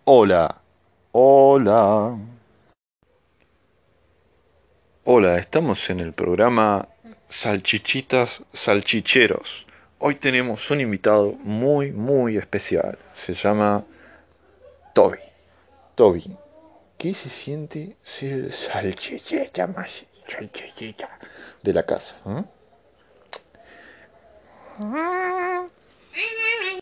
Hola, hola. Hola, estamos en el programa Salchichitas Salchicheros. Hoy tenemos un invitado muy especial. Se llama Toby. Toby, ¿qué se siente ser el salchichita más salchichita de la casa?